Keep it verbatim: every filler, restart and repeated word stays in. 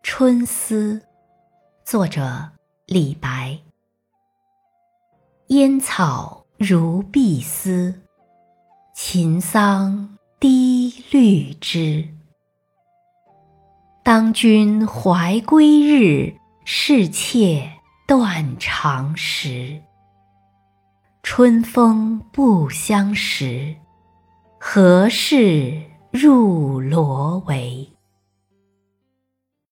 春思，作者李白。烟草如碧丝，秦桑低绿枝。当君怀归日，是妾断肠时。春风不相识，何事入罗帷。